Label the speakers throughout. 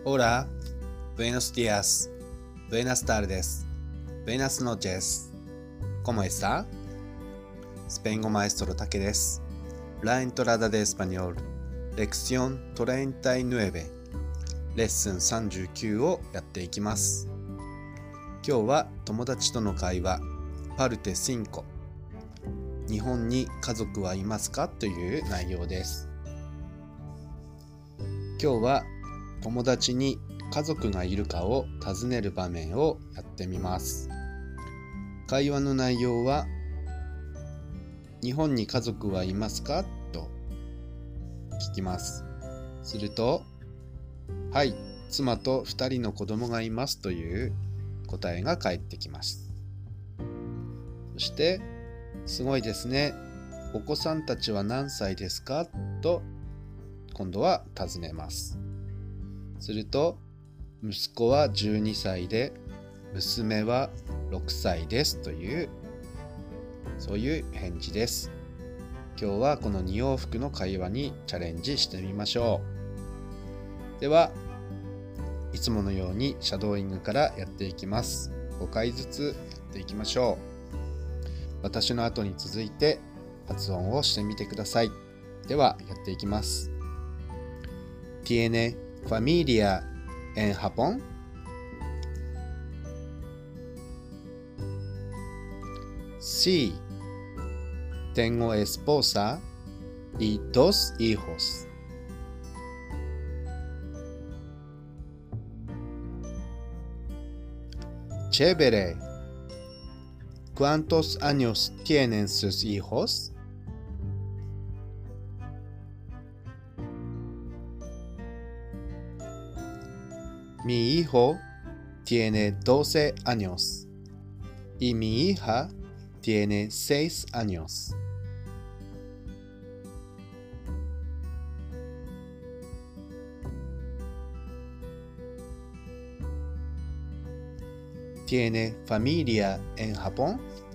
Speaker 1: Hola, buenos días, buenas tardes, buenas noches. ¿Cómo está? スペイン語マエストロタケです。La entrada de español, lección 39、レッスン39をやっていきます。今日は友達との会話、パルテ5、日本に家族はいますかという内容です。今日は友達に家族がいるかを尋ねる場面をやってみます。会話の内容は、日本に家族はいますかと聞きます。すると、はい、妻と2人の子供がいますという答えが返ってきます。そして、すごいですね。お子さんたちは何歳ですかと今度は尋ねます。すると、息子は12歳で、娘は6歳ですという、そういう返事です。今日はこの2往復の会話にチャレンジしてみましょう。では、いつものようにシャドーイングからやっていきます。5回ずつやっていきましょう。私の後に続いて発音をしてみてください。では、やっていきます。¿Tiene familia en Japón? Sí, tengo esposa y 2 hijos. Chévere. ¿Cuántos años tienen sus hijos? Mi hijo tiene 12 años y mi hija tiene 6 años. ¿Tiene familia en Japón?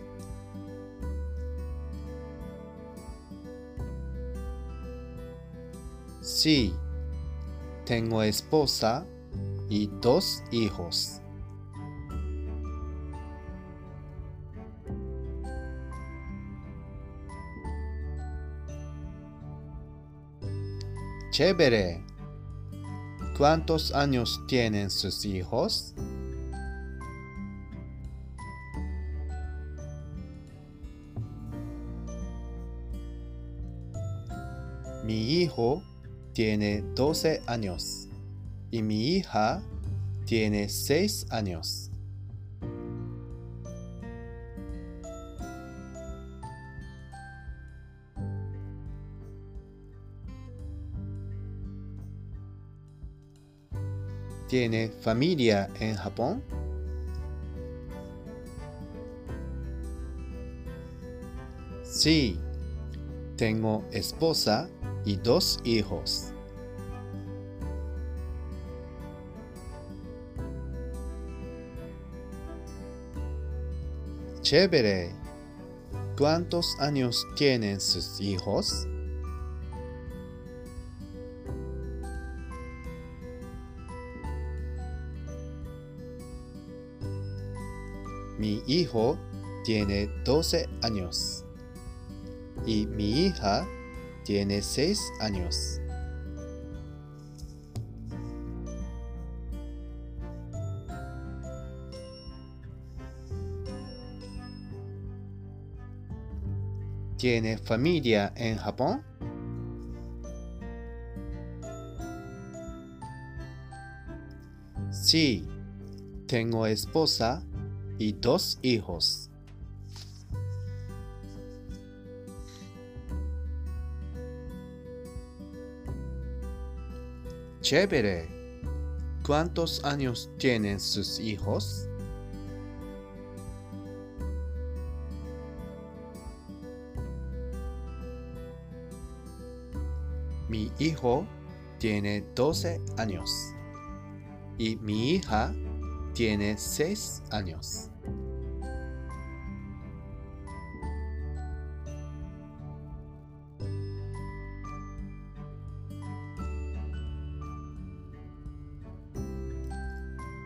Speaker 1: Sí, tengo esposa y 2 hijos. Chévere. ¿Cuántos años tienen sus hijos? Mi hijo tiene 12 años y mi hija tiene 6 años. ¿Tiene familia en Japón? Sí, tengo esposa y 2 hijos. Chévere. ¿Cuántos años tienen sus hijos? Mi hijo tiene 12 años y mi hija tiene 6 años. ¿Tiene familia en Japón? Sí, tengo esposa y 2 hijos. Chévere. ¿Cuántos años tienen sus hijos? Mi hijo tiene 12 años y mi hija tiene 6 años.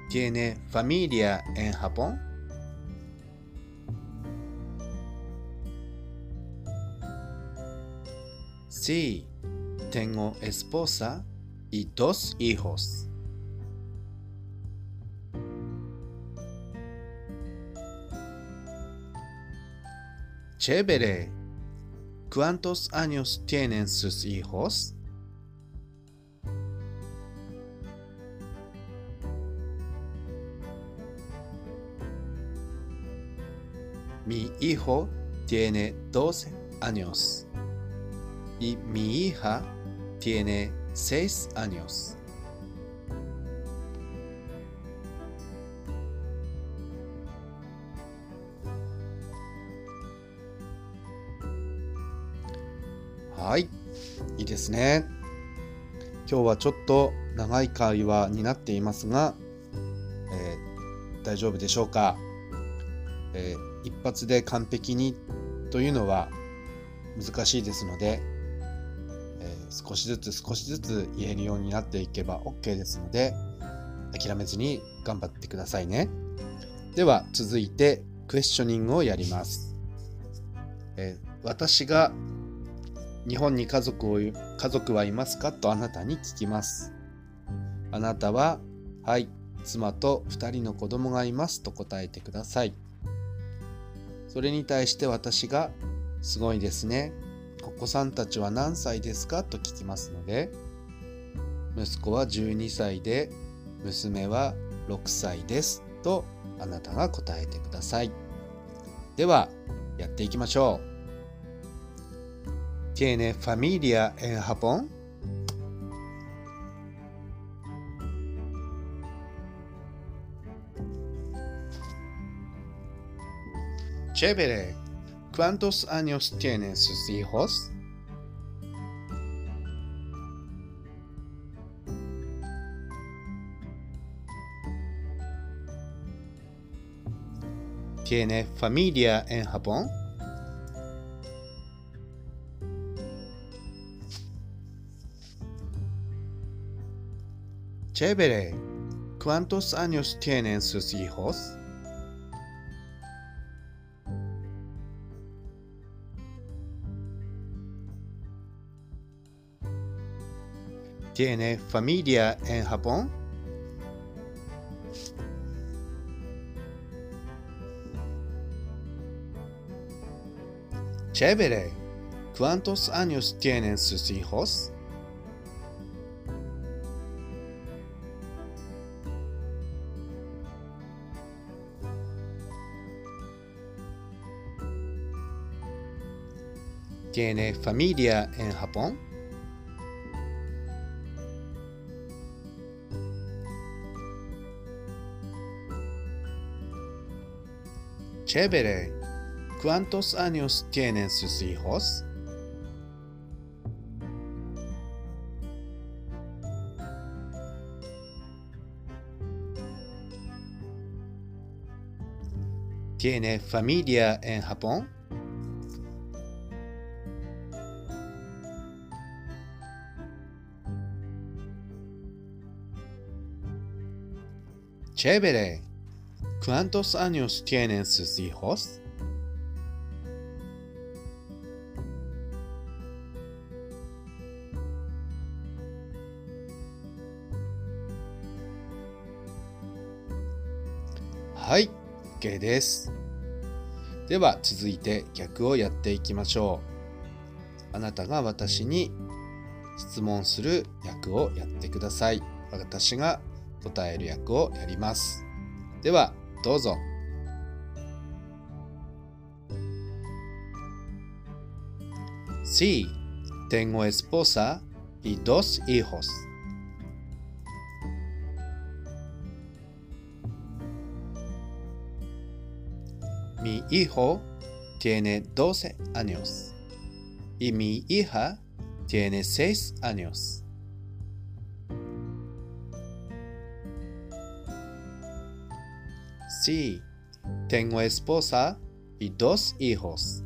Speaker 1: ¿Tiene familia en Japón? Sí, tengo esposa y 2 hijos. Chévere. ¿Cuántos años tienen sus hijos? Mi hijo tiene 12 años y mi hija tiene 6 años.はい、いいですね。今日はちょっと長い会話になっていますが、大丈夫でしょうか。一発で完璧にというのは難しいですので、少しずつ言えるようになっていけば OK ですので、諦めずに頑張ってくださいね。では続いてクエスチョニングをやります。私が日本に家族はいますかとあなたに聞きます。あなたは、はい、妻と2人の子供がいますと答えてください。それに対して私が、すごいですね。お子さんたちは何歳ですかと聞きますので、息子は12歳で、娘は6歳ですとあなたが答えてください。では、やっていきましょう。¿Tiene familia en Japón? Chévere. ¿Cuántos años tienen sus hijos? ¿Tiene familia en Japón? Chévere. ¿Cuántos años tienen sus hijos? ¿Tiene familia en Japón? Chévere. ¿Cuántos años tienen sus hijos? ¿Tiene familia en Japón? Chévere. ¿Cuántos años tienen sus hijos? ¿Tiene familia en Japón? Chévere. ¿Cuántos años tienen sus hijos?はい、OK です。では続いて逆をやっていきましょう。あなたが私に質問する役をやってください。私が答える役をやります。ではどうぞ。Sí, tengo esposa y 2 hijos. Mi hijo tiene 12 años y mi hija tiene 6 años. Sí, tengo esposa y 2 hijos.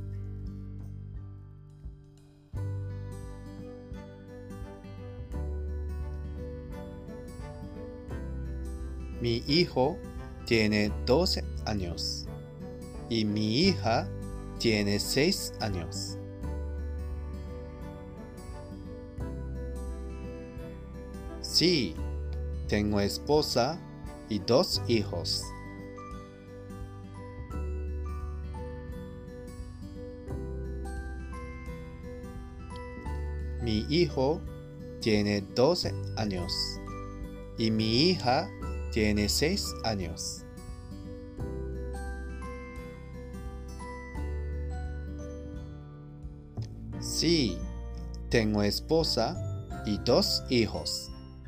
Speaker 1: Mi hijo tiene 12 años y mi hija tiene 6 años. Sí, tengo esposa y 2 hijos. Mi hijo tiene 12 años y mi hija tiene 6 años. Sí, tengo esposa y 2 hijos.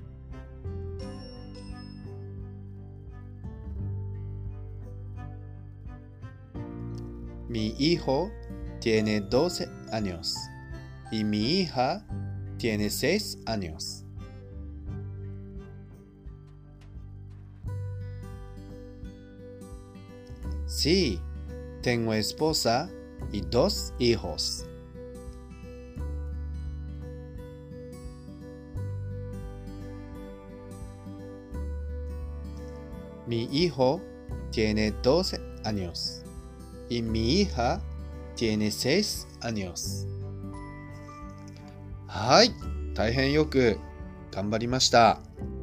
Speaker 1: Mi hijo tiene 12 años y mi hija tiene 6 años. Sí, tengo esposa y 2 hijos. Mi hijo tiene 12 años y mi hija tiene 6 años. はい、大変よく頑張りました。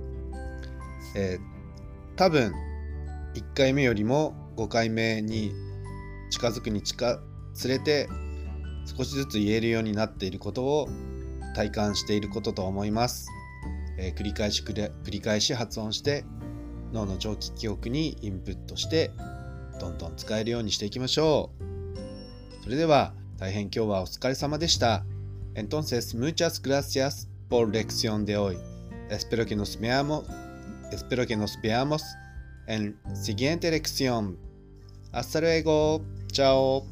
Speaker 1: 多分1回目よりも5回目に近づくにつれて少しずつ言えるようになっていることを体感していることと思います。繰り返し発音して脳の長期記憶にインプットしてどんどん使えるようにしていきましょう。それでは大変今日はお疲れ様でした。Entonces, muchas gracias por lección de hoy. Espero que nos veamos en siguiente lección. Hasta luego. Chao.